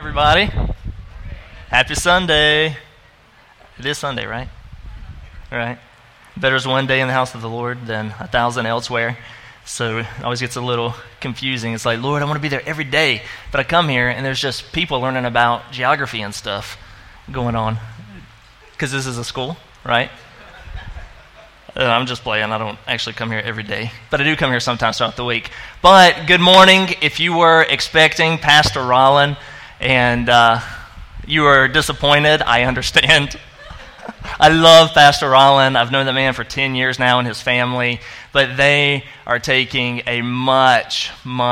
Everybody, happy Sunday. It is Sunday, right? All right. Better is one day in the house of the Lord than 1,000 elsewhere. So it always gets a little confusing. It's like, Lord, I want to be there every day. But I come here and there's just people learning about geography and stuff going on. Because this is a school, right? I'm just playing. I don't actually come here every day. But I do come here sometimes throughout the week. But good morning. If you were expecting Pastor Rollin and you were disappointed, I understand. I love Pastor Rollin. I've known that man for 10 years now and his family. But they are taking a much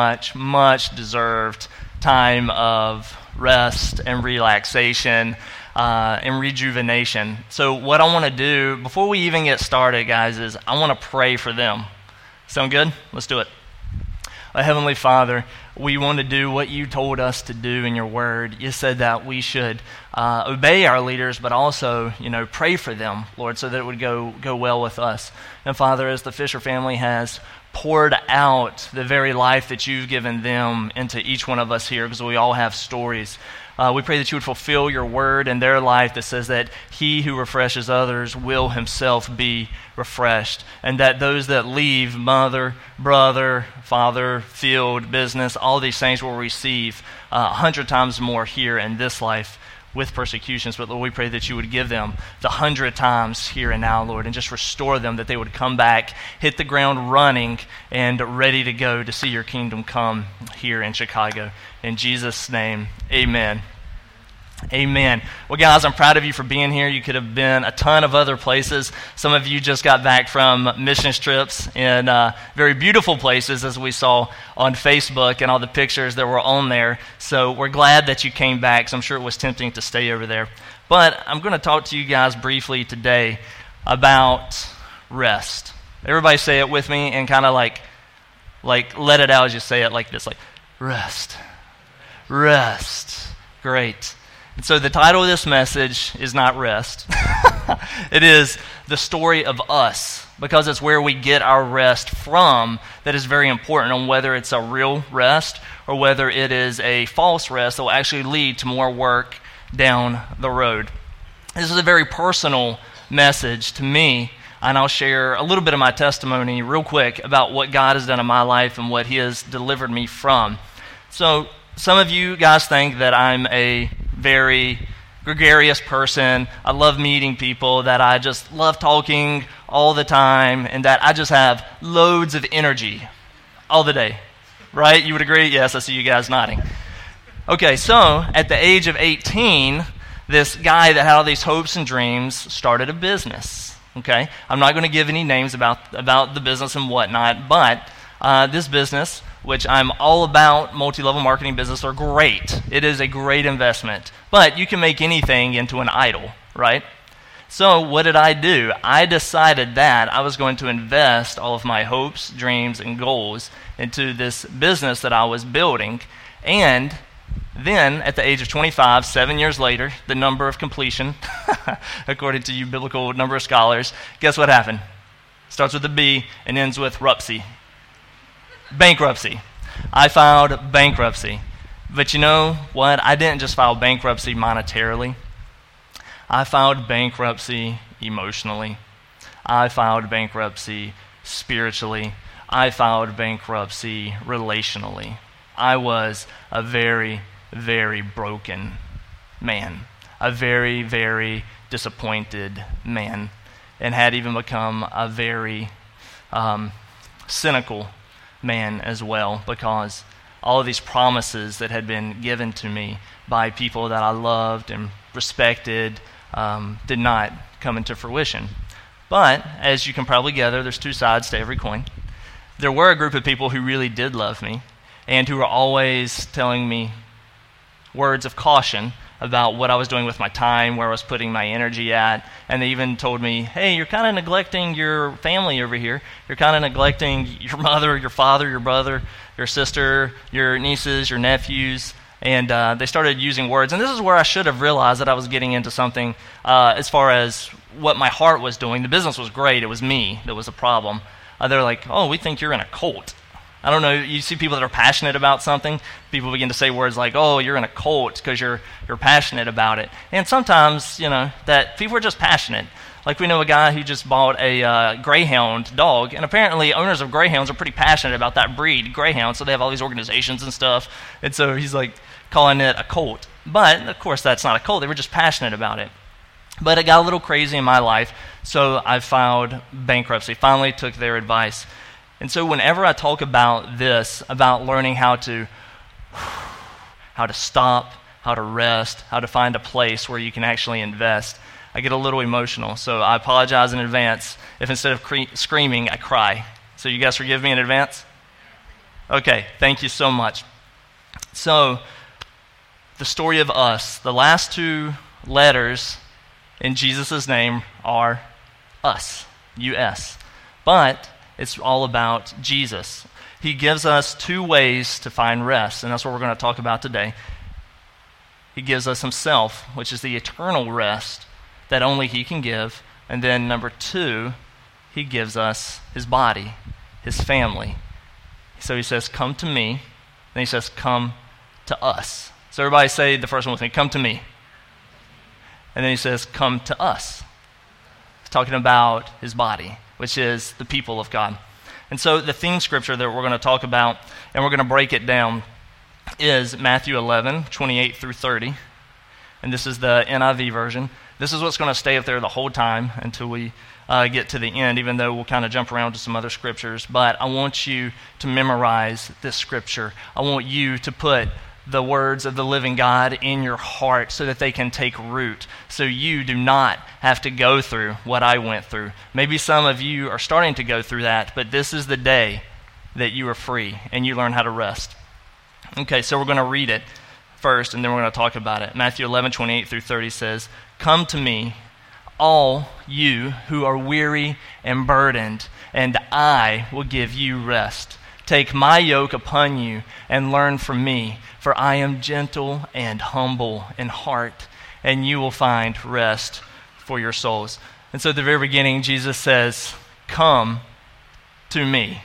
deserved time of rest and relaxation and rejuvenation. So what I want to do, before we even get started, guys, is I want to pray for them. Sound good? Let's do it. Heavenly Father, we want to do what you told us to do in your word. You said that we should obey our leaders, but also, pray for them, Lord, so that it would go well with us. And Father, as the Fisher family has poured out the very life that you've given them into each one of us here, because we all have stories, we pray that you would fulfill your word in their life that says that he who refreshes others will himself be refreshed. And that those that leave mother, brother, father, field, business, all these things will receive 100 times more here in this life with persecutions. But Lord, we pray that you would give them the 100 times here and now, Lord, and just restore them, that they would come back, hit the ground running, and ready to go to see your kingdom come here in Chicago. In Jesus' name, amen. Amen. Well, guys, I'm proud of you for being here. You could have been a ton of other places. Some of you just got back from missions trips in very beautiful places, as we saw on Facebook and all the pictures that were on there. So we're glad that you came back, because I'm sure it was tempting to stay over there. But I'm going to talk to you guys briefly today about rest. Everybody say it with me and kind of like let it out as you say it, like this, like rest. Rest. Great. And so the title of this message is not rest. It is the story of us, because it's where we get our rest from that is very important, on whether it's a real rest or whether it is a false rest that will actually lead to more work down the road. This is a very personal message to me, and I'll share a little bit of my testimony real quick about what God has done in my life and what he has delivered me from. So some of you guys think that I'm a very gregarious person. I love meeting people, that I just love talking all the time, and that I just have loads of energy all the day. Right? You would agree? Yes, I see you guys nodding. Okay, so at the age of 18, this guy that had all these hopes and dreams started a business. Okay? I'm not going to give any names about the business and whatnot, but this business, which I'm all about, multi-level marketing business, are great. It is a great investment. But you can make anything into an idol, right? So what did I do? I decided that I was going to invest all of my hopes, dreams, and goals into this business that I was building. And then, at the age of 25, 7 years later, the number of completion, according to you biblical number of scholars, guess what happened? Starts with a B and ends with rupsy. Bankruptcy. I filed bankruptcy. But you know what? I didn't just file bankruptcy monetarily. I filed bankruptcy emotionally. I filed bankruptcy spiritually. I filed bankruptcy relationally. I was a very, very broken man. A very, very disappointed man. And had even become a very cynical man as well, because all of these promises that had been given to me by people that I loved and respected did not come into fruition. But, as you can probably gather, there's two sides to every coin. There were a group of people who really did love me and who were always telling me words of caution about what I was doing with my time, where I was putting my energy at. And they even told me, hey, you're kind of neglecting your family over here. You're kind of neglecting your mother, your father, your brother, your sister, your nieces, your nephews. And they started using words. And this is where I should have realized that I was getting into something as far as what my heart was doing. The business was great. It was me that was the problem. They're like, oh, we think you're in a cult. I don't know, you see people that are passionate about something, people begin to say words like, oh, you're in a cult because you're passionate about it. And sometimes, that people are just passionate. Like we know a guy who just bought a greyhound dog, and apparently owners of greyhounds are pretty passionate about that breed, greyhound, so they have all these organizations and stuff. And so he's like calling it a cult. But, of course, that's not a cult. They were just passionate about it. But it got a little crazy in my life, so I filed bankruptcy, finally took their advice. And so whenever I talk about this, about learning how to stop, how to rest, how to find a place where you can actually invest, I get a little emotional. So I apologize in advance if instead of screaming, I cry. So you guys forgive me in advance? Okay, thank you so much. So the story of us, the last two letters in Jesus' name are us, U-S. But it's all about Jesus. He gives us two ways to find rest, and that's what we're going to talk about today. He gives us himself, which is the eternal rest that only he can give. And then number two, he gives us his body, his family. So he says, come to me. Then he says, come to us. So everybody say the first one with me, come to me. And then he says, come to us. He's talking about his body, which is the people of God. And so the theme scripture that we're going to talk about, and we're going to break it down, is Matthew 11, 28 through 30. And this is the NIV version. This is what's going to stay up there the whole time until we get to the end, even though we'll kind of jump around to some other scriptures. But I want you to memorize this scripture. I want you to put the words of the living God in your heart so that they can take root, so you do not have to go through what I went through. Maybe some of you are starting to go through that, but this is the day that you are free and you learn how to rest. Okay, so we're going to read it first, and then we're going to talk about it. Matthew 11, 28 through 30 says, come to me, all you who are weary and burdened, and I will give you rest. Take my yoke upon you and learn from me, for I am gentle and humble in heart, and you will find rest for your souls. And so at the very beginning, Jesus says, come to me.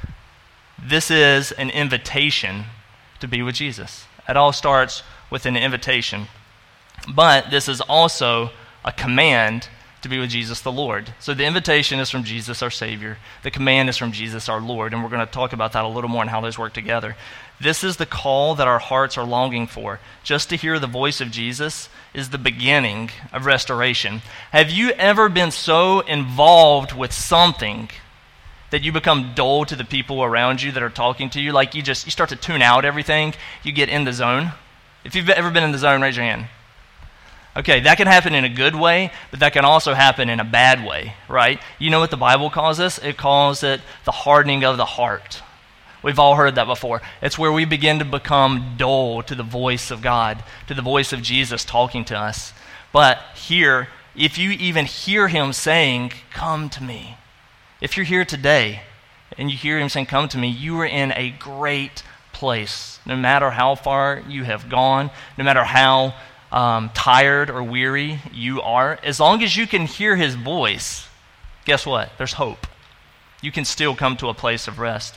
This is an invitation to be with Jesus. It all starts with an invitation. But this is also a command to be with Jesus the Lord. So the invitation is from Jesus our Savior. The command is from Jesus our Lord. And we're going to talk about that a little more and how those work together. This is the call that our hearts are longing for. Just to hear the voice of Jesus is the beginning of restoration. Have you ever been so involved with something that you become dull to the people around you that are talking to you? Like you start to tune out everything. You get in the zone. If you've ever been in the zone, raise your hand. Okay, that can happen in a good way, but that can also happen in a bad way, right? You know what the Bible calls this? It calls it the hardening of the heart. We've all heard that before. It's where we begin to become dull to the voice of God, to the voice of Jesus talking to us. But here, if you even hear him saying, come to me, if you're here today and you hear him saying, come to me, you are in a great place. No matter how far you have gone, no matter how tired or weary you are, as long as you can hear his voice, guess what? There's hope. You can still come to a place of rest.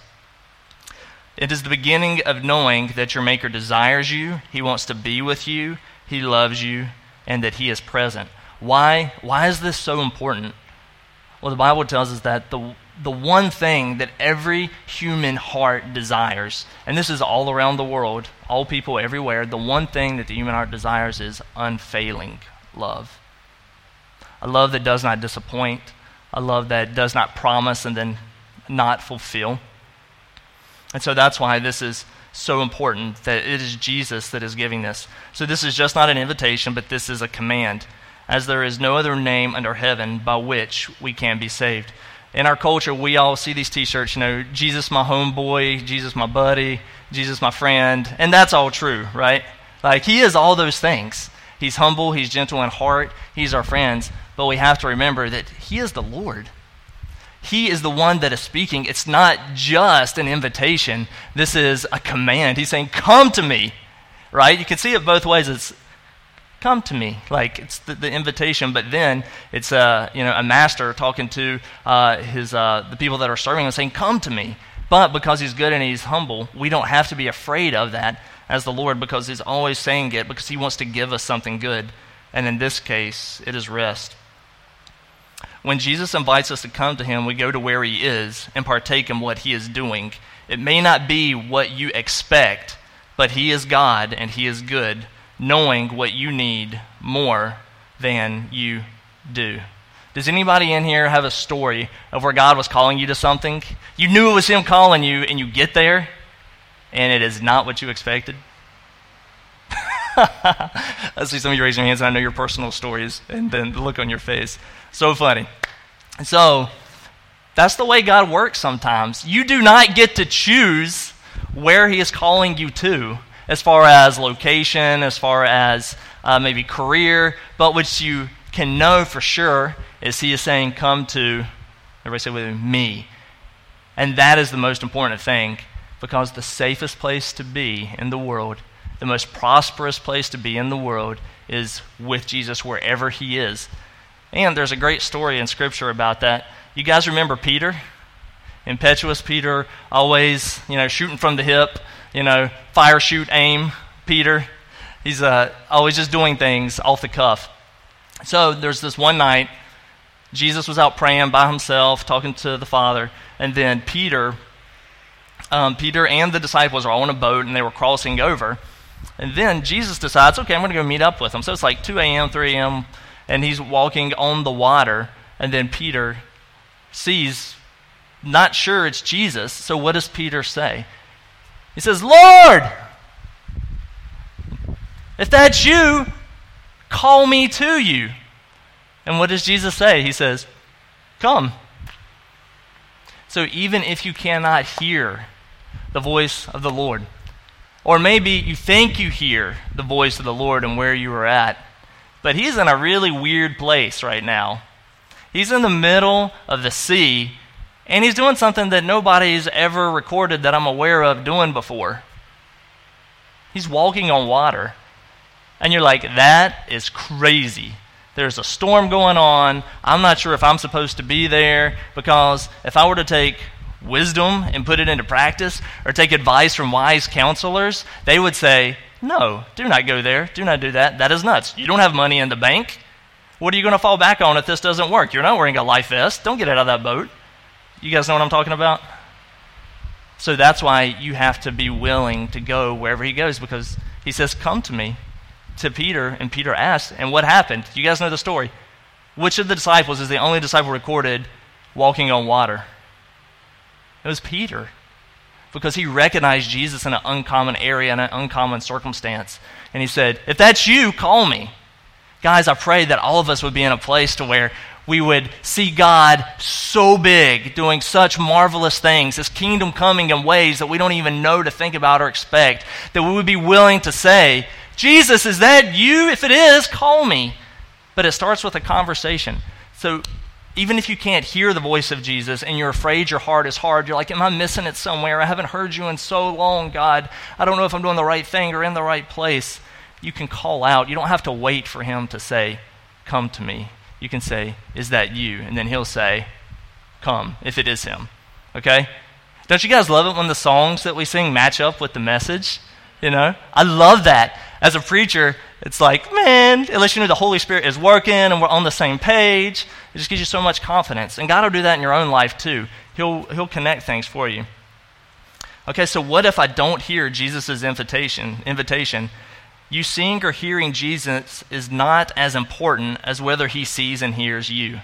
It is the beginning of knowing that your Maker desires you, he wants to be with you, he loves you, and that he is present. Why is this so important? Well, the Bible tells us that the one thing that every human heart desires, and this is all around the world, all people everywhere, the one thing that the human heart desires is unfailing love. A love that does not disappoint, a love that does not promise and then not fulfill. And so that's why this is so important, that it is Jesus that is giving this. So this is just not an invitation, but this is a command, as there is no other name under heaven by which we can be saved. In our culture, we all see these t-shirts, Jesus my homeboy, Jesus my buddy, Jesus my friend, and that's all true, right? Like, he is all those things. He's humble, he's gentle in heart, he's our friends, but we have to remember that he is the Lord. He is the one that is speaking. It's not just an invitation. This is a command. He's saying, come to me, right? You can see it both ways. It's come to me, like it's the invitation, but then it's a master talking to the people that are serving and saying, come to me. But because he's good and he's humble, we don't have to be afraid of that as the Lord, because he's always saying it because he wants to give us something good. And in this case, it is rest. When Jesus invites us to come to him, we go to where he is and partake in what he is doing. It may not be what you expect, but he is God and he is good, knowing what you need more than you do. Does anybody in here have a story of where God was calling you to something? You knew it was him calling you, and you get there, and it is not what you expected? I see some of you raising your hands, and I know your personal stories, and then the look on your face. So funny. So, that's the way God works sometimes. You do not get to choose where he is calling you to, as far as location, as far as maybe career, but what you can know for sure is he is saying, come to, everybody say with me. And that is the most important thing, because the safest place to be in the world, the most prosperous place to be in the world, is with Jesus wherever he is. And there's a great story in Scripture about that. You guys remember Peter? Impetuous Peter, always, shooting from the hip, fire, shoot, aim, Peter. He's always just doing things off the cuff. So there's this one night, Jesus was out praying by himself, talking to the Father, and then Peter and the disciples are all on a boat, and they were crossing over. And then Jesus decides, okay, I'm going to go meet up with them. So it's like 2 a.m., 3 a.m., and he's walking on the water, and then Peter sees, not sure it's Jesus, so what does Peter say? He says, Lord, if that's you, call me to you. And what does Jesus say? He says, come. So even if you cannot hear the voice of the Lord, or maybe you think you hear the voice of the Lord and where you are at, but he's in a really weird place right now. He's in the middle of the sea, and he's doing something that nobody's ever recorded that I'm aware of doing before. He's walking on water. And you're like, that is crazy. There's a storm going on. I'm not sure if I'm supposed to be there, because if I were to take wisdom and put it into practice, or take advice from wise counselors, they would say, no, do not go there. Do not do that. That is nuts. You don't have money in the bank. What are you going to fall back on if this doesn't work? You're not wearing a life vest. Don't get out of that boat. You guys know what I'm talking about? So that's why you have to be willing to go wherever he goes, because he says, come to me, to Peter, and Peter asked, and what happened? You guys know the story. Which of the disciples is the only disciple recorded walking on water? It was Peter, because he recognized Jesus in an uncommon area, in an uncommon circumstance. And he said, if that's you, call me. Guys, I pray that all of us would be in a place to where we would see God so big, doing such marvelous things, his kingdom coming in ways that we don't even know to think about or expect, that we would be willing to say, Jesus, is that you? If it is, call me. But it starts with a conversation. So even if you can't hear the voice of Jesus and you're afraid your heart is hard, you're like, am I missing it somewhere? I haven't heard you in so long, God. I don't know if I'm doing the right thing or in the right place. You can call out. You don't have to wait for him to say, come to me. You can say, is that you? And then he'll say, come, if it is him. Okay? Don't you guys love it when the songs that we sing match up with the message? I love that. As a preacher, it's like, man, unless you know the Holy Spirit is working and we're on the same page, it just gives you so much confidence. And God will do that in your own life too. He'll connect things for you. Okay, so what if I don't hear Jesus' invitation? You seeing or hearing Jesus is not as important as whether he sees and hears you.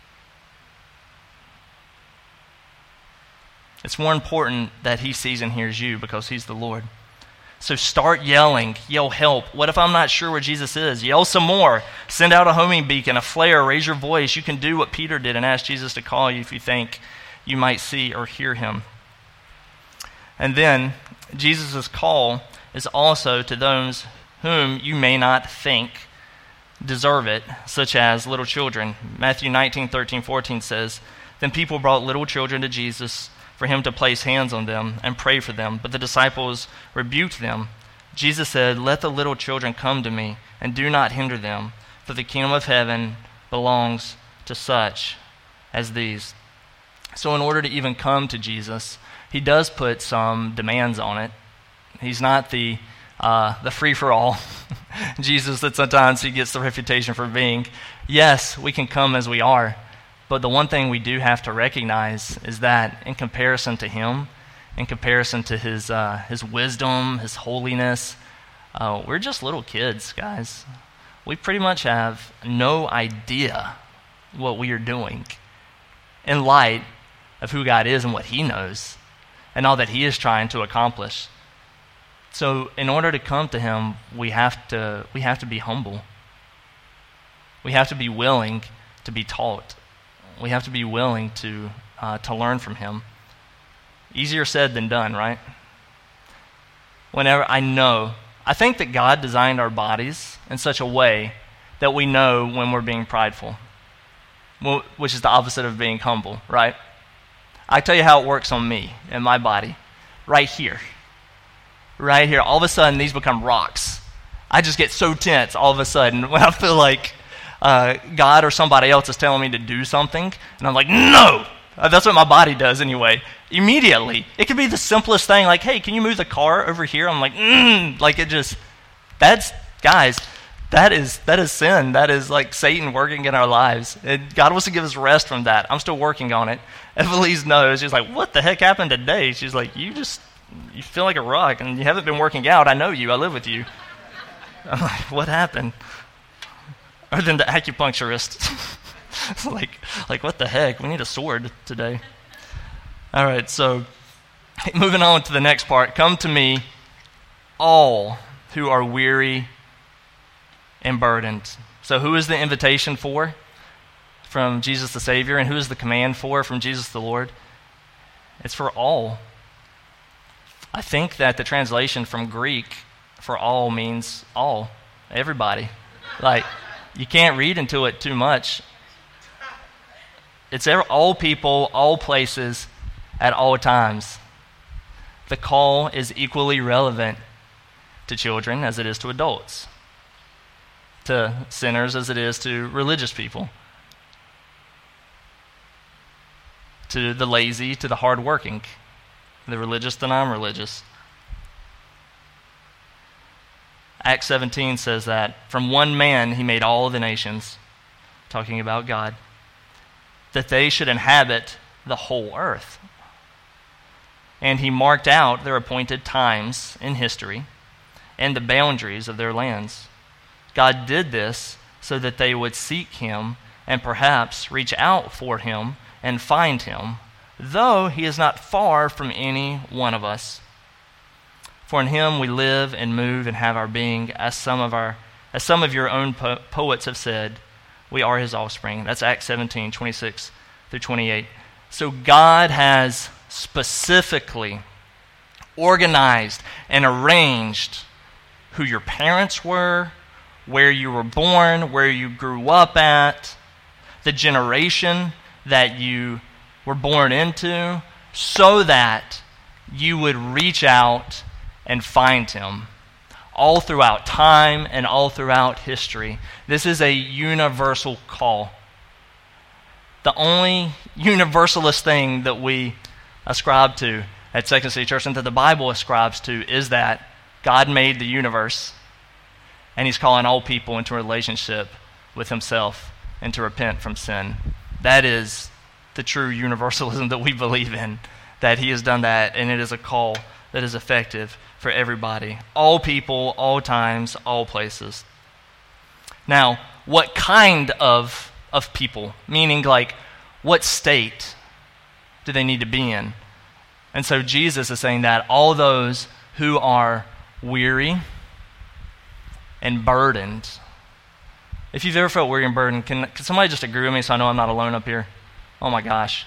It's more important that he sees and hears you, because he's the Lord. So start yelling, yell help. What if I'm not sure where Jesus is? Yell some more. Send out a homing beacon, a flare, raise your voice. You can do what Peter did and ask Jesus to call you if you think you might see or hear him. And then Jesus' call is also to those whom you may not think deserve it, such as little children. Matthew 19:13-14 says, then people brought little children to Jesus for him to place hands on them and pray for them. But the disciples rebuked them. Jesus said, let the little children come to me, and do not hinder them, for the kingdom of heaven belongs to such as these. So in order to even come to Jesus, he does put some demands on it. He's not the free-for-all Jesus that sometimes he gets the reputation for being. Yes, we can come as we are, but the one thing we do have to recognize is that in comparison to him, in comparison to his wisdom, his holiness, we're just little kids, guys. We pretty much have no idea what we are doing in light of who God is and what he knows and all that he is trying to accomplish. So in order to come to him, we have to be humble. We have to be willing to be taught. We have to be willing to learn from him. Easier said than done, right? I think that God designed our bodies in such a way that we know when we're being prideful, which is the opposite of being humble, right? I tell you how it works on me and my body. Right here. All of a sudden, these become rocks. I just get so tense all of a sudden when I feel like God or somebody else is telling me to do something, and I'm like, no! That's what my body does anyway. Immediately. It could be the simplest thing, like, hey, can you move the car over here? I'm like, like it just, guys, that is sin. That is like Satan working in our lives. And God wants to give us rest from that. I'm still working on it. Evelise knows. She's like, what the heck happened today? She's like, you feel like a rock, and you haven't been working out. I know you. I live with you. I'm like, what happened? Other than the acupuncturist. like what the heck? We need a sword today. All right, so moving on to the next part. Come to me, all who are weary and burdened. So who is the invitation for? From Jesus the Savior. And who is the command for? From Jesus the Lord. It's for all. I think that the translation from Greek for all means all, everybody. Like, you can't read into it too much. It's all people, all places, at all times. The call is equally relevant to children as it is to adults, to sinners as it is to religious people, to the lazy, to the hardworking, the religious, the non-religious. Acts 17 says that from one man he made all the nations, talking about God, that they should inhabit the whole earth. And he marked out their appointed times in history and the boundaries of their lands. God did this so that they would seek him and perhaps reach out for him and find him, though he is not far from any one of us. For in him we live and move and have our being, as some of your own poets have said, we are his offspring. That's Acts 17, 26 through 28. So God has specifically organized and arranged who your parents were, where you were born, where you grew up at, the generation that you were born into, so that you would reach out and find him all throughout time and all throughout history. This is a universal call. The only universalist thing that we ascribe to at Second City Church and that the Bible ascribes to is that God made the universe and he's calling all people into a relationship with himself and to repent from sin. That is the true universalism that we believe in, that he has done that, and it is a call that is effective for everybody. All people, all times, all places. Now, what kind of people? Meaning, like, what state do they need to be in? And so Jesus is saying that all those who are weary and burdened. If you've ever felt weary and burdened, can somebody just agree with me so I know I'm not alone up here? Oh my gosh.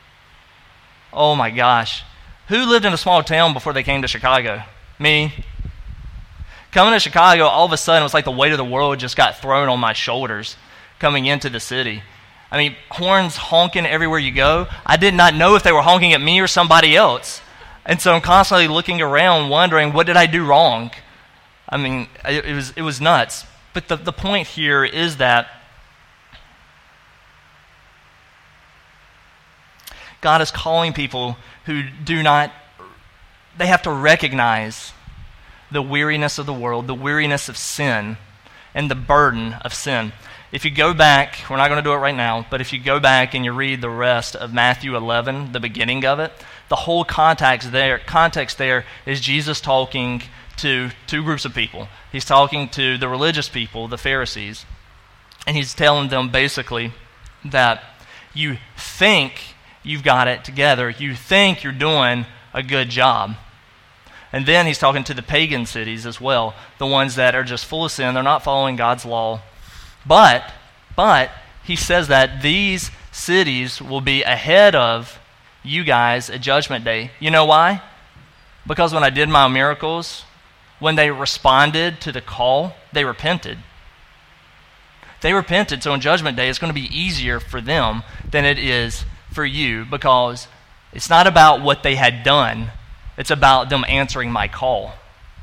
Oh my gosh. Who lived in a small town before they came to Chicago? Me. Coming to Chicago, all of a sudden, it was like the weight of the world just got thrown on my shoulders coming into the city. I mean, horns honking everywhere you go. I did not know if they were honking at me or somebody else. And so I'm constantly looking around wondering, what did I do wrong? I mean, it was nuts. But the point here is that God is calling people who they have to recognize the weariness of the world, the weariness of sin, and the burden of sin. If you go back, we're not going to do it right now, but if you go back and you read the rest of Matthew 11, the beginning of it, the whole context there is Jesus talking to two groups of people. He's talking to the religious people, the Pharisees, and he's telling them basically that you think you've got it together, you think you're doing a good job. And then he's talking to the pagan cities as well, the ones that are just full of sin, they're not following God's law. But he says that these cities will be ahead of you guys at Judgment Day. You know why? Because when I did my miracles, when they responded to the call, they repented. They repented, so on Judgment Day, it's going to be easier for them than it is for you, because it's not about what they had done. It's about them answering my call.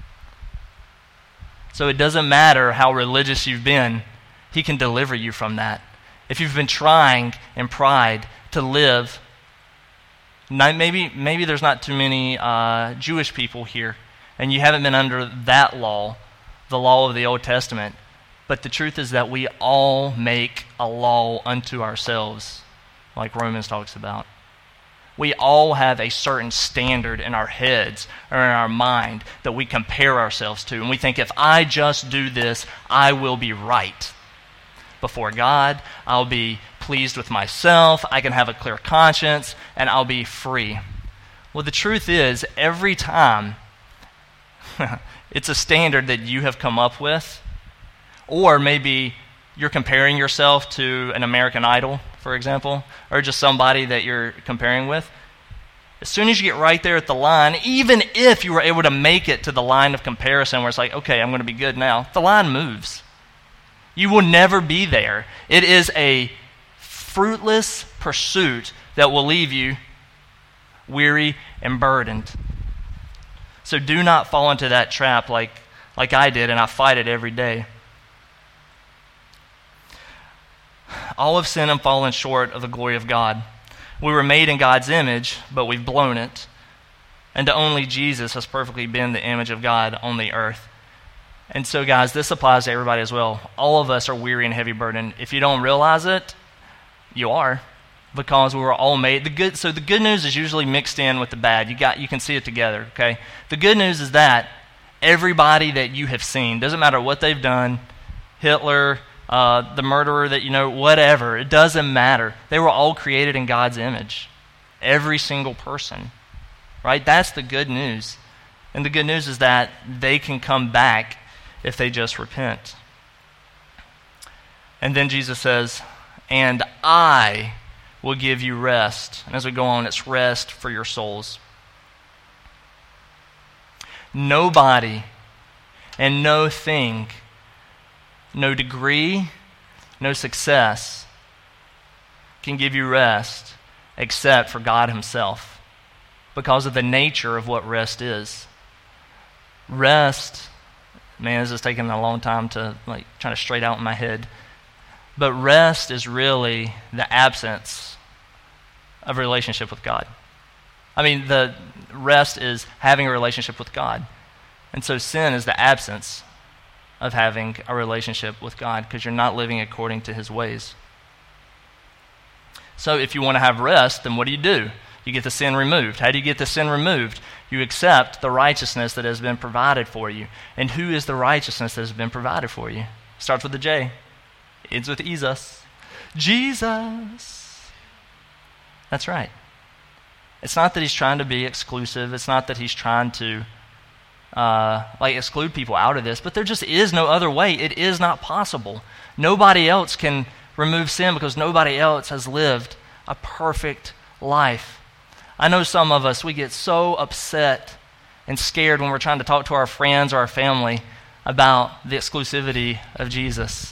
So it doesn't matter how religious you've been, he can deliver you from that. If you've been trying in pride to live, maybe there's not too many Jewish people here, and you haven't been under that law, the law of the Old Testament. But the truth is that we all make a law unto ourselves, like Romans talks about. We all have a certain standard in our heads or in our mind that we compare ourselves to. And we think, if I just do this, I will be right before God. I'll be pleased with myself. I can have a clear conscience, and I'll be free. Well, the truth is, every time it's a standard that you have come up with, or maybe you're comparing yourself to an American Idol, for example, or just somebody that you're comparing with. As soon as you get right there at the line, even if you were able to make it to the line of comparison where it's like, okay, I'm going to be good now, the line moves. You will never be there. It is a fruitless pursuit that will leave you weary and burdened. So do not fall into that trap like I did, and I fight it every day. All have sinned and fallen short of the glory of God. We were made in God's image, but we've blown it. And to only Jesus has perfectly been the image of God on the earth. And so, guys, this applies to everybody as well. All of us are weary and heavy burdened. If you don't realize it, you are, because we were all made. So the good news is usually mixed in with the bad. You can see it together, okay? The good news is that everybody that you have seen, doesn't matter what they've done, Hitler, the murderer that you know, whatever, it doesn't matter. They were all created in God's image. Every single person, right? That's the good news. And the good news is that they can come back if they just repent. And then Jesus says, and I will give you rest. And as we go on, it's rest for your souls. Nobody and no thing, no degree, no success can give you rest except for God himself, because of the nature of what rest is. Rest, man, this is taking a long time to trying to straight out in my head. But rest is really the absence of a relationship with God. I mean, the rest is having a relationship with God. And so sin is the absence of having a relationship with God, because you're not living according to his ways. So if you want to have rest, then what do? You get the sin removed. How do you get the sin removed? You accept the righteousness that has been provided for you. And who is the righteousness that has been provided for you? Starts with a J. Ends with Jesus. Jesus. That's right. It's not that he's trying to be exclusive. It's not that he's trying to exclude people out of this, but there just is no other way. It is not possible. Nobody else can remove sin, because nobody else has lived a perfect life. I know some of us, we get so upset and scared when we're trying to talk to our friends or our family about the exclusivity of Jesus.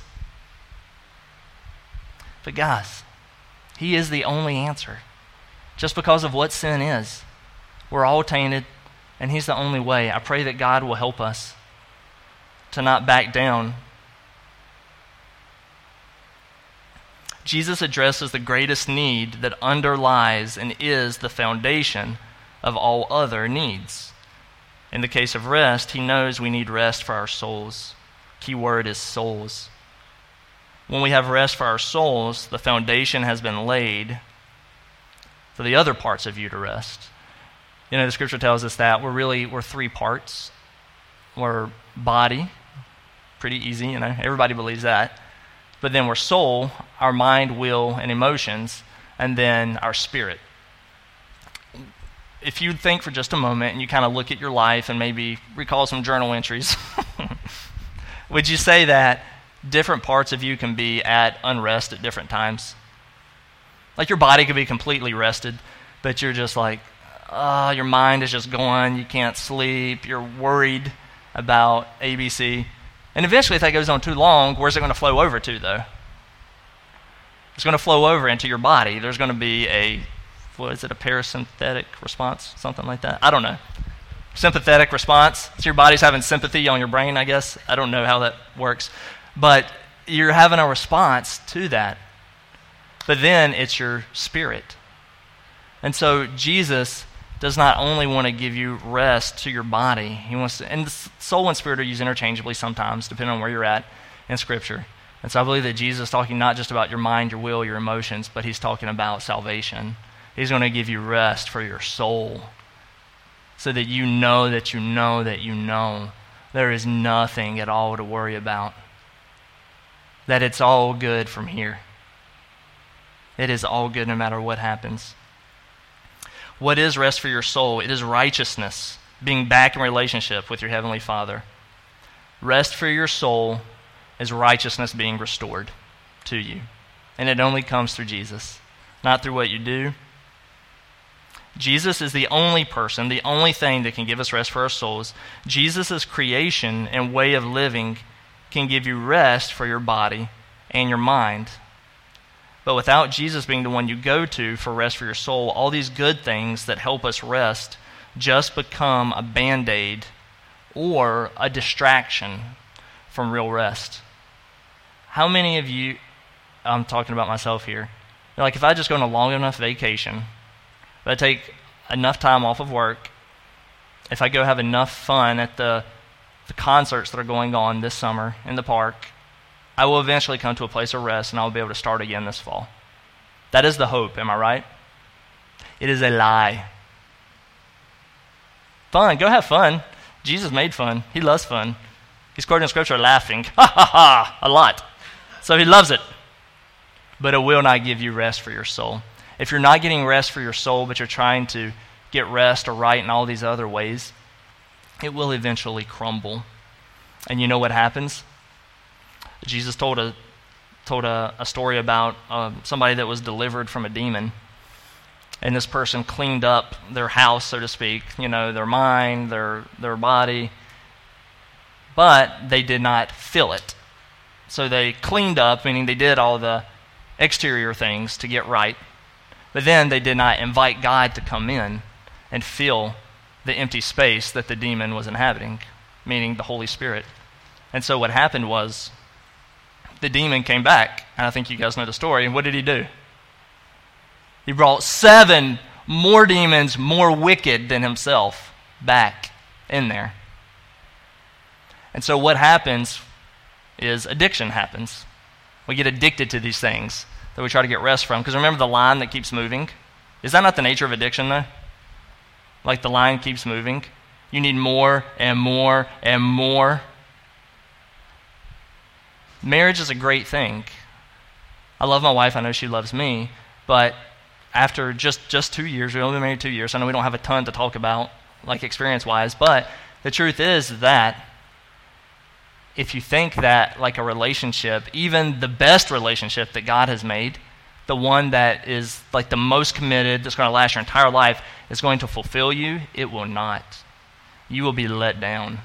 But guys, he is the only answer. Just because of what sin is. We're all tainted, and he's the only way. I pray that God will help us to not back down. Jesus addresses the greatest need that underlies and is the foundation of all other needs. In the case of rest, he knows we need rest for our souls. Key word is souls. When we have rest for our souls, the foundation has been laid for the other parts of you to rest. You know, the scripture tells us that we're three parts. We're body, pretty easy, you know, everybody believes that. But then we're soul, our mind, will, and emotions, and then our spirit. If you think for just a moment and you kind of look at your life and maybe recall some journal entries, would you say that different parts of you can be at unrest at different times? Like your body could be completely rested, but you're just like, your mind is just going, you can't sleep, you're worried about ABC. And eventually, if that goes on too long, where's it going to flow over to, though? It's going to flow over into your body. There's going to be a parasympathetic response? Something like that? I don't know. Sympathetic response. So your body's having sympathy on your brain, I guess. I don't know how that works. But you're having a response to that. But then it's your spirit. And so Jesus does not only want to give you rest to your body, he wants to, and soul and spirit are used interchangeably sometimes, depending on where you're at in Scripture. And so I believe that Jesus is talking not just about your mind, your will, your emotions, but he's talking about salvation. He's going to give you rest for your soul so that you know that you know that you know there is nothing at all to worry about, that it's all good from here. It is all good no matter what happens. What is rest for your soul? It is righteousness, being back in relationship with your Heavenly Father. Rest for your soul is righteousness being restored to you. And it only comes through Jesus, not through what you do. Jesus is the only person, the only thing that can give us rest for our souls. Jesus' creation and way of living can give you rest for your body and your mind. But without Jesus being the one you go to for rest for your soul, all these good things that help us rest just become a Band-Aid or a distraction from real rest. How many of you, I'm talking about myself here, like if I just go on a long enough vacation, if I take enough time off of work, if I go have enough fun at the concerts that are going on this summer in the park, I will eventually come to a place of rest and I'll be able to start again this fall. That is the hope, am I right? It is a lie. Fun, go have fun. Jesus made fun. He loves fun. He's quoted in Scripture laughing, ha ha ha, a lot. So he loves it. But it will not give you rest for your soul. If you're not getting rest for your soul, but you're trying to get rest or right in all these other ways, it will eventually crumble. And you know what happens? Jesus told a story about somebody that was delivered from a demon. And this person cleaned up their house, so to speak, you know, their mind, their body, but they did not fill it. So they cleaned up, meaning they did all the exterior things to get right, but then they did not invite God to come in and fill the empty space that the demon was inhabiting, meaning the Holy Spirit. And so what happened was the demon came back, and I think you guys know the story, and what did he do? He brought 7 more demons, more wicked than himself, back in there. And so what happens is addiction happens. We get addicted to these things that we try to get rest from. Because remember the line that keeps moving? Is that not the nature of addiction, though? Like the line keeps moving. You need more and more and more. Marriage is a great thing. I love my wife. I know she loves me. But after just 2 years, we've only been married 2 years. I know we don't have a ton to talk about, like experience-wise. But the truth is that if you think that like a relationship, even the best relationship that God has made, the one that is like the most committed, that's going to last your entire life, is going to fulfill you, it will not. You will be let down.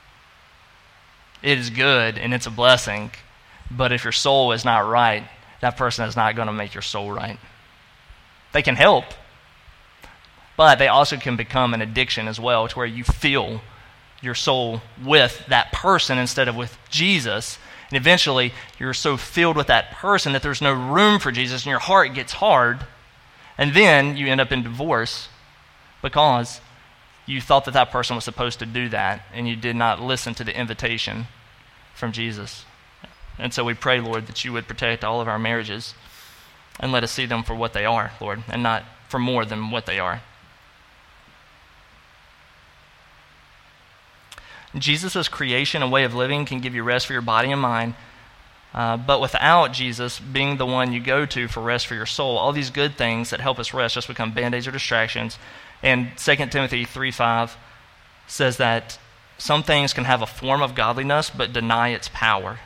It is good and it's a blessing, but if your soul is not right, that person is not going to make your soul right. They can help, but they also can become an addiction as well, to where you fill your soul with that person instead of with Jesus. And And eventually, you're so filled with that person that there's no room for Jesus, and your heart gets hard. And then you end up in divorce because you thought that that person was supposed to do that, and you did not listen to the invitation from Jesus. And so we pray, Lord, that you would protect all of our marriages and let us see them for what they are, Lord, and not for more than what they are. Jesus' creation and way of living can give you rest for your body and mind, but without Jesus being the one you go to for rest for your soul, all these good things that help us rest just become band-aids or distractions. And 2 Timothy 3:5 says that some things can have a form of godliness but deny its power.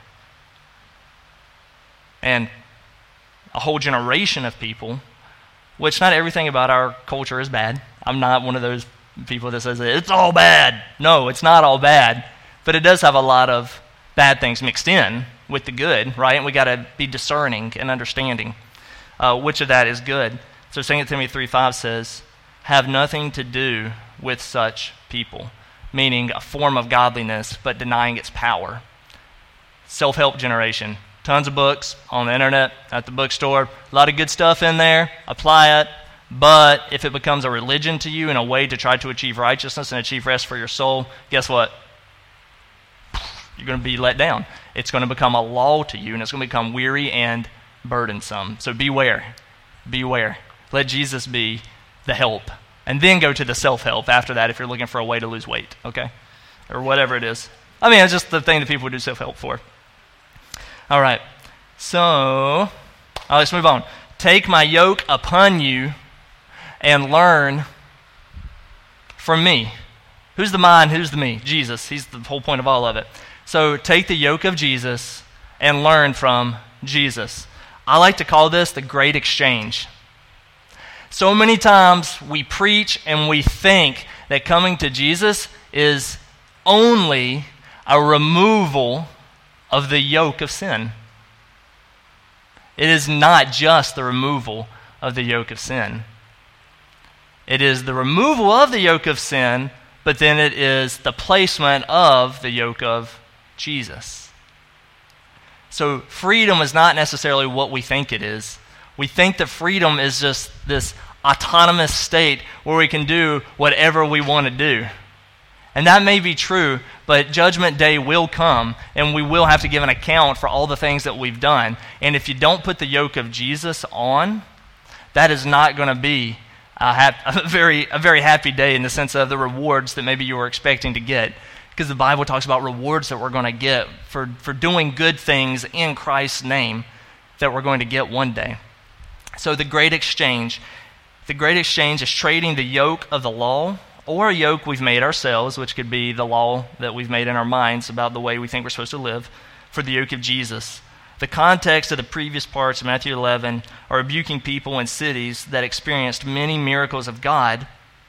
And a whole generation of people, which not everything about our culture is bad. I'm not one of those people that says it's all bad. No, it's not all bad. But it does have a lot of bad things mixed in with the good, right? And we got to be discerning and understanding which of that is good. So 2 Timothy 3:5 says, have nothing to do with such people, meaning a form of godliness but denying its power. Self-help generation. Tons of books on the internet, at the bookstore, a lot of good stuff in there, apply it, but if it becomes a religion to you and a way to try to achieve righteousness and achieve rest for your soul, guess what? You're going to be let down. It's going to become a law to you, and it's going to become weary and burdensome. So beware. Beware. Let Jesus be the help, and then go to the self-help after that if you're looking for a way to lose weight, okay? Or whatever it is. I mean, it's just the thing that people would do self-help for. All right, so let's move on. Take my yoke upon you and learn from me. Who's the mine? Who's the me? Jesus. He's the whole point of all of it. So take the yoke of Jesus and learn from Jesus. I like to call this the great exchange. So many times we preach and we think that coming to Jesus is only a removal of the yoke of sin. It is not just the removal of the yoke of sin. It is the removal of the yoke of sin, but then it is the placement of the yoke of Jesus. So freedom is not necessarily what we think it is. We think that freedom is just this autonomous state where we can do whatever we want to do. And that may be true, but Judgment Day will come, and we will have to give an account for all the things that we've done. And if you don't put the yoke of Jesus on, that is not going to be a very happy day in the sense of the rewards that maybe you were expecting to get. Because the Bible talks about rewards that we're going to get for doing good things in Christ's name that we're going to get one day. So the great exchange is trading the yoke of the law or a yoke we've made ourselves, which could be the law that we've made in our minds about the way we think we're supposed to live, for the yoke of Jesus. The context of the previous parts of Matthew 11 are rebuking people in cities that experienced many miracles of God,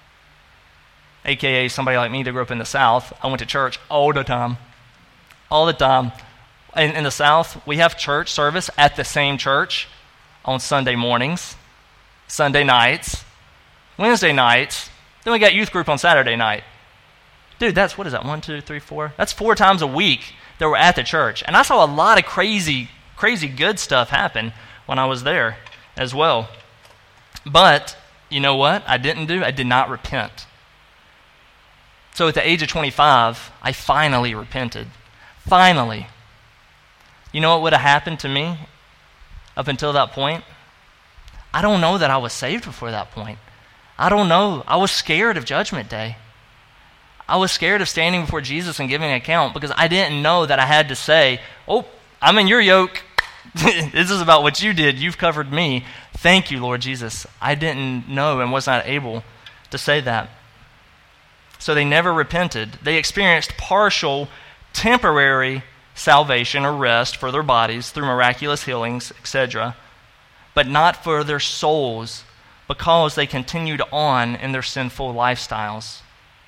a.k.a. somebody like me that grew up in the South. I went to church all the time. All the time. In the South, we have church service at the same church on Sunday mornings, Sunday nights, Wednesday nights. Then we got youth group on Saturday night. Dude, that's, what is that, 1, 2, 3, 4? That's 4 times a week that we're at the church. And I saw a lot of crazy good stuff happen when I was there as well. But, you know what I did not repent. So at the age of 25, I finally repented. Finally. You know what would have happened to me up until that point? I don't know that I was saved before that point. I don't know. I was scared of Judgment Day. I was scared of standing before Jesus and giving an account because I didn't know that I had to say, oh, I'm in your yoke. This is about what you did. You've covered me. Thank you, Lord Jesus. I didn't know and was not able to say that. So they never repented. They experienced partial, temporary salvation or rest for their bodies through miraculous healings, etc., but not for their souls, because they continued on in their sinful lifestyles.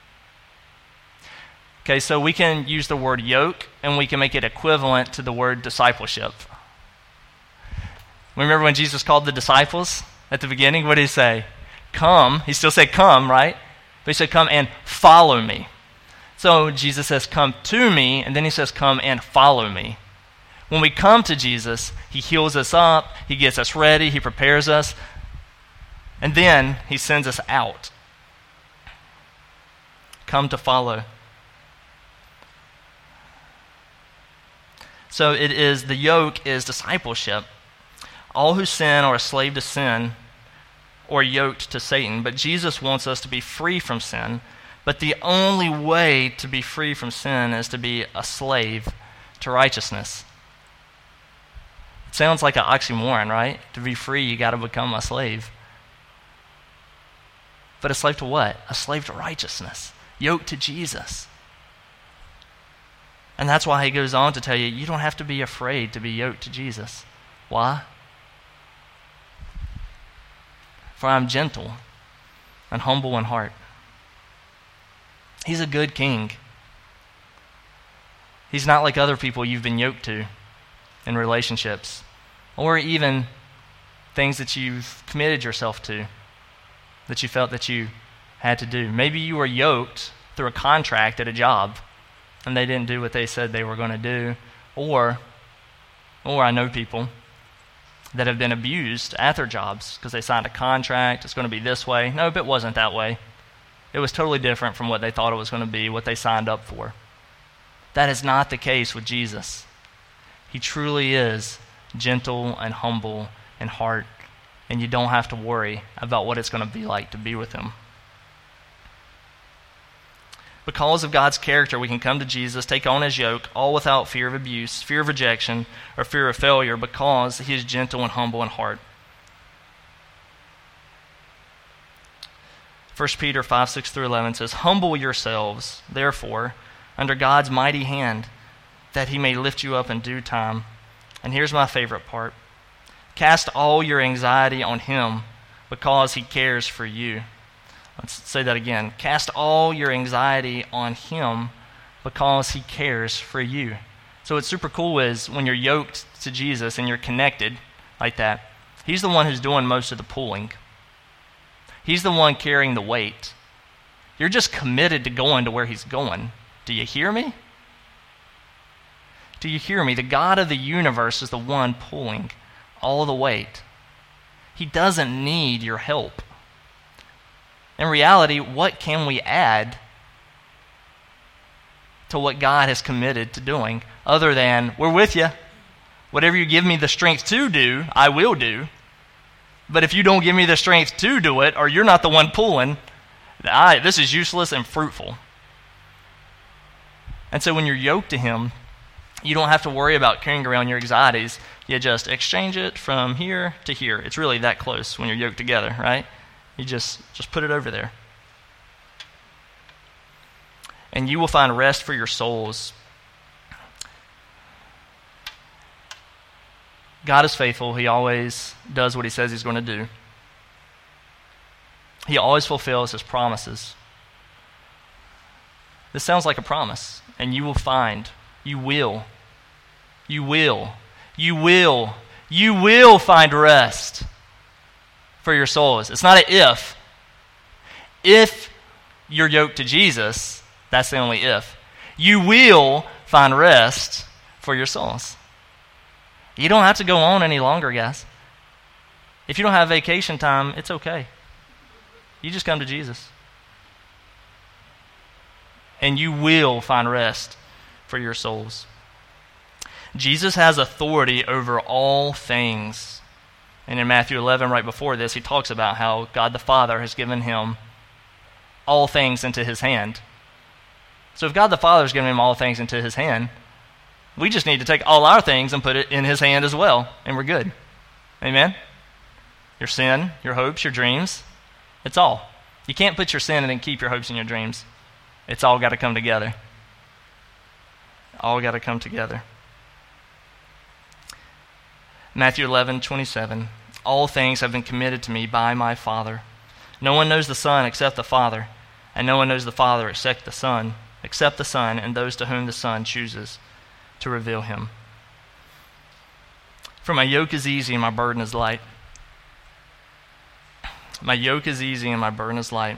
Okay, so we can use the word yoke, and we can make it equivalent to the word discipleship. Remember when Jesus called the disciples at the beginning? What did he say? Come. He still said come, right? But he said come and follow me. So Jesus says come to me, and then he says come and follow me. When we come to Jesus, he heals us up, he gets us ready, he prepares us, and then he sends us out. Come to follow. So the yoke is discipleship. All who sin are a slave to sin or yoked to Satan, but Jesus wants us to be free from sin. But the only way to be free from sin is to be a slave to righteousness. It sounds like an oxymoron, right? To be free, you got to become a slave. But a slave to what? A slave to righteousness, yoked to Jesus. And that's why he goes on to tell you, you don't have to be afraid to be yoked to Jesus. Why? For I'm gentle and humble in heart. He's a good king. He's not like other people you've been yoked to in relationships, or even things that you've committed yourself to, that you felt that you had to do. Maybe you were yoked through a contract at a job, and they didn't do what they said they were going to do. Or I know people that have been abused at their jobs because they signed a contract, it's going to be this way. Nope, it wasn't that way. It was totally different from what they thought it was going to be, what they signed up for. That is not the case with Jesus. He truly is gentle and humble in heart, and you don't have to worry about what it's going to be like to be with him. Because of God's character, we can come to Jesus, take on his yoke, all without fear of abuse, fear of rejection, or fear of failure, because he is gentle and humble in heart. 1 Peter 5:6-11 says, "Humble yourselves, therefore, under God's mighty hand, that he may lift you up in due time." And here's my favorite part. "Cast all your anxiety on him, because he cares for you." Let's say that again. Cast all your anxiety on him, because he cares for you. So what's super cool is when you're yoked to Jesus and you're connected like that, he's the one who's doing most of the pulling. He's the one carrying the weight. You're just committed to going to where he's going. Do you hear me? Do you hear me? The God of the universe is the one pulling all the weight. He doesn't need your help. In reality, what can we add to what God has committed to doing other than, we're with you. Whatever you give me the strength to do, I will do. But if you don't give me the strength to do it, or you're not the one pulling, this is useless and fruitful. And so when you're yoked to him, you don't have to worry about carrying around your anxieties. You just exchange it from here to here. It's really that close when you're yoked together, right? You just put it over there. And you will find rest for your souls. God is faithful. He always does what he says he's going to do. He always fulfills his promises. This sounds like a promise. And you will find, you will find rest for your souls. It's not an if. If you're yoked to Jesus, that's the only if. You will find rest for your souls. You don't have to go on any longer, guys. If you don't have vacation time, it's okay. You just come to Jesus. And you will find rest for your souls. Jesus has authority over all things. And in Matthew 11, right before this, he talks about how God the Father has given him all things into his hand. So if God the Father has given him all things into his hand, we just need to take all our things and put it in his hand as well, and we're good. Amen? Your sin, your hopes, your dreams, it's all. You can't put your sin and then keep your hopes and your dreams. It's all got to come together. All got to come together. Matthew 11:27. All things have been committed to me by my Father. No one knows the Son except the Father, and no one knows the Father except the Son, and those to whom the Son chooses to reveal him. For my yoke is easy and my burden is light. My yoke is easy and my burden is light.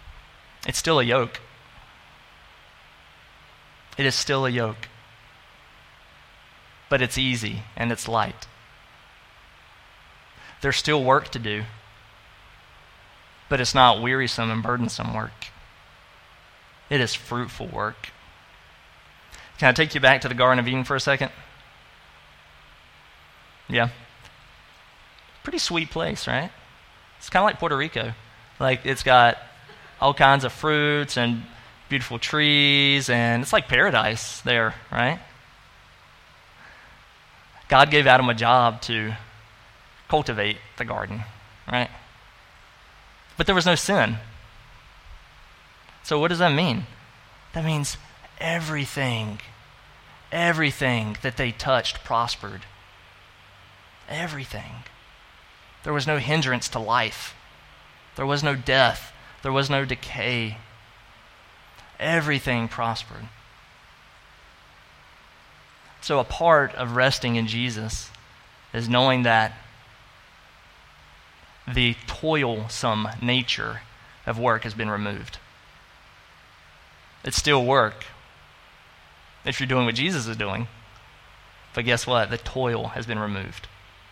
It's still a yoke. It is still a yoke. but it's easy and it's light. There's still work to do, but it's not wearisome and burdensome work. It is fruitful work. Can I take you back to the Garden of Eden for a second? Yeah. Pretty sweet place, right? It's kind of like Puerto Rico. Like, it's got all kinds of fruits and beautiful trees, and it's like paradise there, right? God gave Adam a job to cultivate the garden, right? But there was no sin. So what does that mean? That means everything that they touched prospered. Everything. There was no hindrance to life. There was no death. There was no decay. Everything prospered. So a part of resting in Jesus is knowing that the toilsome nature of work has been removed. It's still work if you're doing what Jesus is doing. But guess what? The toil has been removed.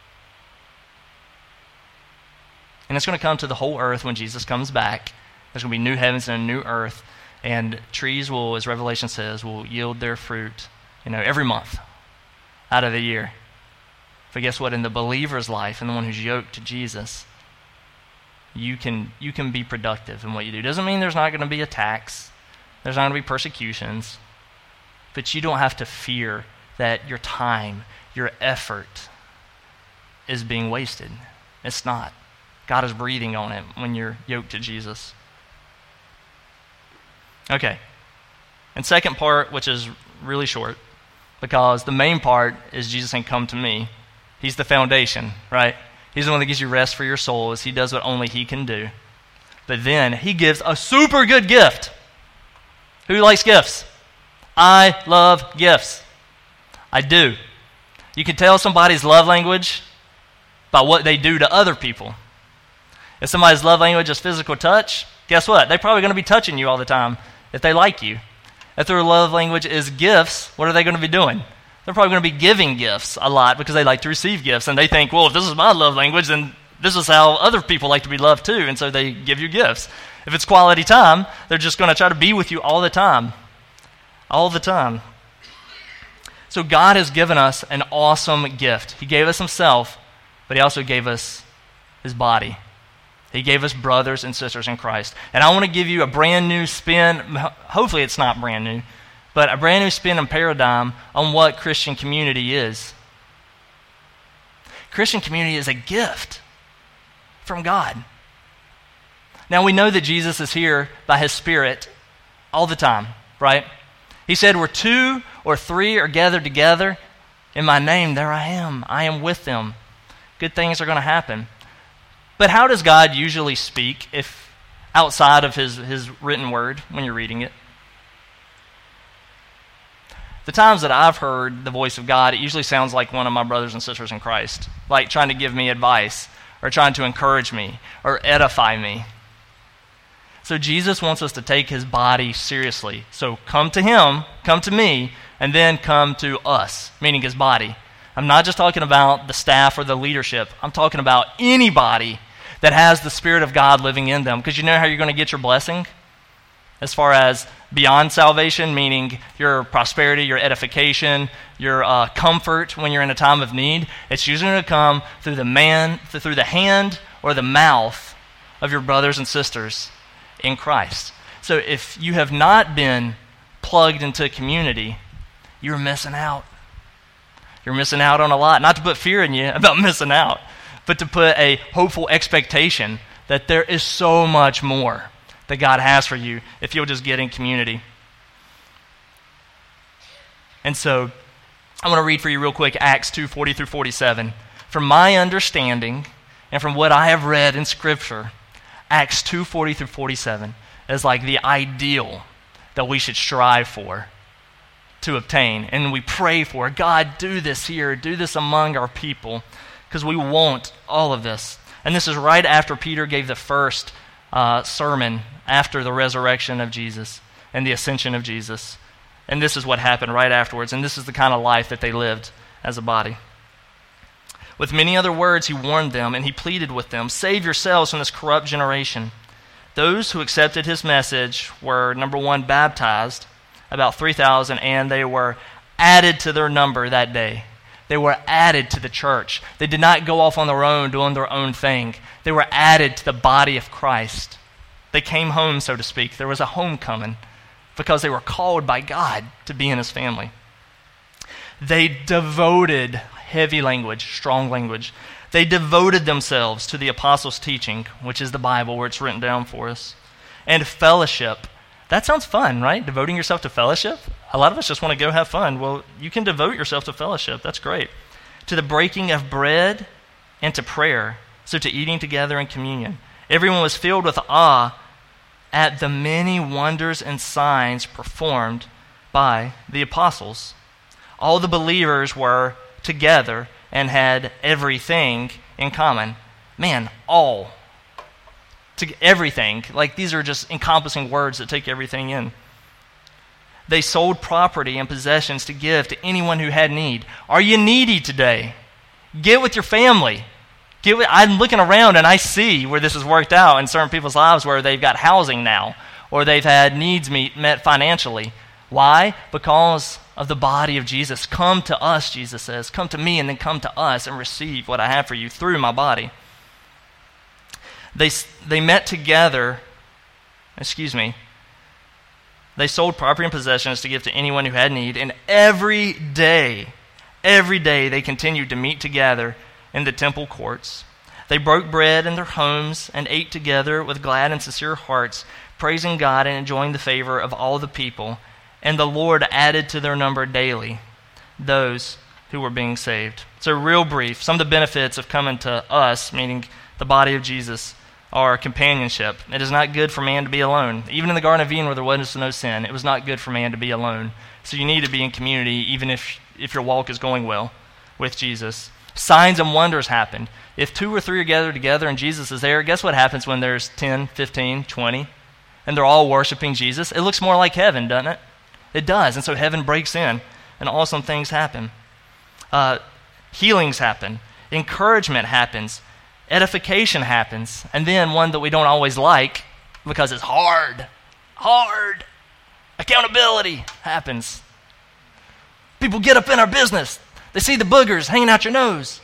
And it's going to come to the whole earth when Jesus comes back. There's going to be new heavens and a new earth. And trees will, as Revelation says, will yield their fruit, every month out of the year. But guess what? In the believer's life, and the one who's yoked to Jesus, you can be productive in what you do. Doesn't mean there's not going to be attacks. There's not going to be persecutions. But you don't have to fear that your time, your effort is being wasted. It's not. God is breathing on it when you're yoked to Jesus. Okay. And second part, which is really short, because the main part is Jesus saying, come to me. He's the foundation, right? He's the one that gives you rest for your soul as he does what only he can do. But then he gives a super good gift. Who likes gifts? I love gifts. I do. You can tell somebody's love language by what they do to other people. If somebody's love language is physical touch, guess what? They're probably going to be touching you all the time if they like you. If their love language is gifts, what are they going to be doing? They're probably going to be giving gifts a lot because they like to receive gifts. And they think, well, if this is my love language, then this is how other people like to be loved too. And so they give you gifts. If it's quality time, they're just going to try to be with you all the time. All the time. So God has given us an awesome gift. He gave us himself, but he also gave us his body. He gave us brothers and sisters in Christ. And I want to give you a brand new spin. Hopefully it's not brand new, but a brand new spin and paradigm on what Christian community is. Christian community is a gift from God. Now we know that Jesus is here by his Spirit all the time, right? He said, where 2 or 3 are gathered together in my name, there I am. I am with them. Good things are going to happen. But how does God usually speak if outside of his written word when you're reading it? The times that I've heard the voice of God, it usually sounds like one of my brothers and sisters in Christ, like trying to give me advice or trying to encourage me or edify me. So Jesus wants us to take his body seriously. So come to him, come to me, and then come to us, meaning his body. I'm not just talking about the staff or the leadership. I'm talking about anybody that has the Spirit of God living in them. Because you know how you're going to get your blessing? As far as beyond salvation, meaning your prosperity, your edification, your comfort when you're in a time of need. It's usually going to come through the hand or the mouth of your brothers and sisters in Christ. So if you have not been plugged into community, you're missing out. You're missing out on a lot. Not to put fear in you about missing out, but to put a hopeful expectation that there is so much more that God has for you if you'll just get in community. And so I want to read for you real quick Acts 2:40 through 47. From my understanding and from what I have read in Scripture, Acts 2:40 through 47 is like the ideal that we should strive for, to obtain. And we pray for, God, do this here, do this among our people, because we want all of this. And this is right after Peter gave the first sermon after the resurrection of Jesus and the ascension of Jesus. And this is what happened right afterwards. And this is the kind of life that they lived as a body. With many other words, he warned them, and he pleaded with them, "Save yourselves from this corrupt generation." Those who accepted his message were, number one, baptized, about 3,000, and they were added to their number that day. They were added to the church. They did not go off on their own doing their own thing. They were added to the body of Christ. They came home, so to speak. There was a homecoming because they were called by God to be in his family. They devoted, heavy language, strong language, they devoted themselves to the apostles' teaching, which is the Bible where it's written down for us, and fellowship. That sounds fun, right? Devoting yourself to fellowship? A lot of us just want to go have fun. Well, you can devote yourself to fellowship. That's great. To the breaking of bread and to prayer. So to eating together in communion. Everyone was filled with awe at the many wonders and signs performed by the apostles. All the believers were together and had everything in common. Man, all. Everything. Like, these are just encompassing words that take everything in. They sold property and possessions to give to anyone who had need. Are you needy today? Get with your family. I'm looking around and I see where this has worked out in certain people's lives where they've got housing now or they've had needs met financially. Why? Because of the body of Jesus. Come to us, Jesus says. Come to me and then come to us and receive what I have for you through my body. They met together, they sold property and possessions to give to anyone who had need, and every day they continued to meet together in the temple courts. They broke bread in their homes and ate together with glad and sincere hearts, praising God and enjoying the favor of all the people. And the Lord added to their number daily those who were being saved. So real brief, some of the benefits of coming to us, meaning the body of Jesus, are companionship. It is not good for man to be alone. Even in the Garden of Eden where there was no sin, it was not good for man to be alone. So you need to be in community even if your walk is going well with Jesus. Signs and wonders happen. If 2 or 3 are gathered together and Jesus is there, guess what happens when there's 10, 15, 20, and they're all worshiping Jesus? It looks more like heaven, doesn't it? It does, and so heaven breaks in, and awesome things happen. Healings happen. Encouragement happens. Edification happens. And then one that we don't always like because it's hard. Accountability happens. People get up in our business. They see the boogers hanging out your nose.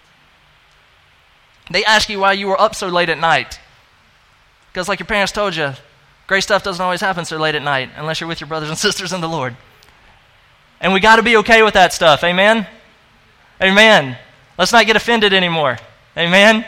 They ask you why you were up so late at night. Because like your parents told you, great stuff doesn't always happen so late at night unless you're with your brothers and sisters in the Lord. And we got to be okay with that stuff. Amen? Amen. Let's not get offended anymore. Amen?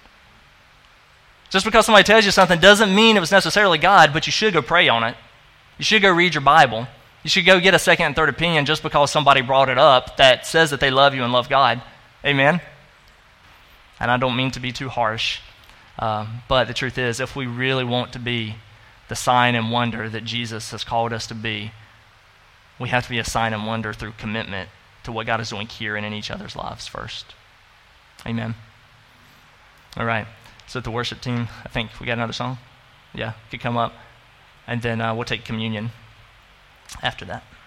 Just because somebody tells you something doesn't mean it was necessarily God, but you should go pray on it. You should go read your Bible. You should go get a second and third opinion just because somebody brought it up that says that they love you and love God. Amen? And I don't mean to be too harsh, but the truth is, if we really want to be the sign and wonder that Jesus has called us to be, we have to be a sign and wonder through commitment to what God is doing here and in each other's lives first. Amen. All right. So the worship team, I think we got another song. Yeah, could come up. And then we'll take communion after that.